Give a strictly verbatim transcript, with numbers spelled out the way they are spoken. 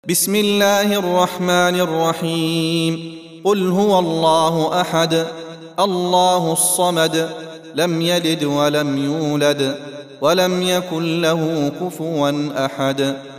بسم الله الرحمن الرحيم. قل هو الله أحد الله الصمد لم يلد ولم يولد ولم يكن له كفوا أحد.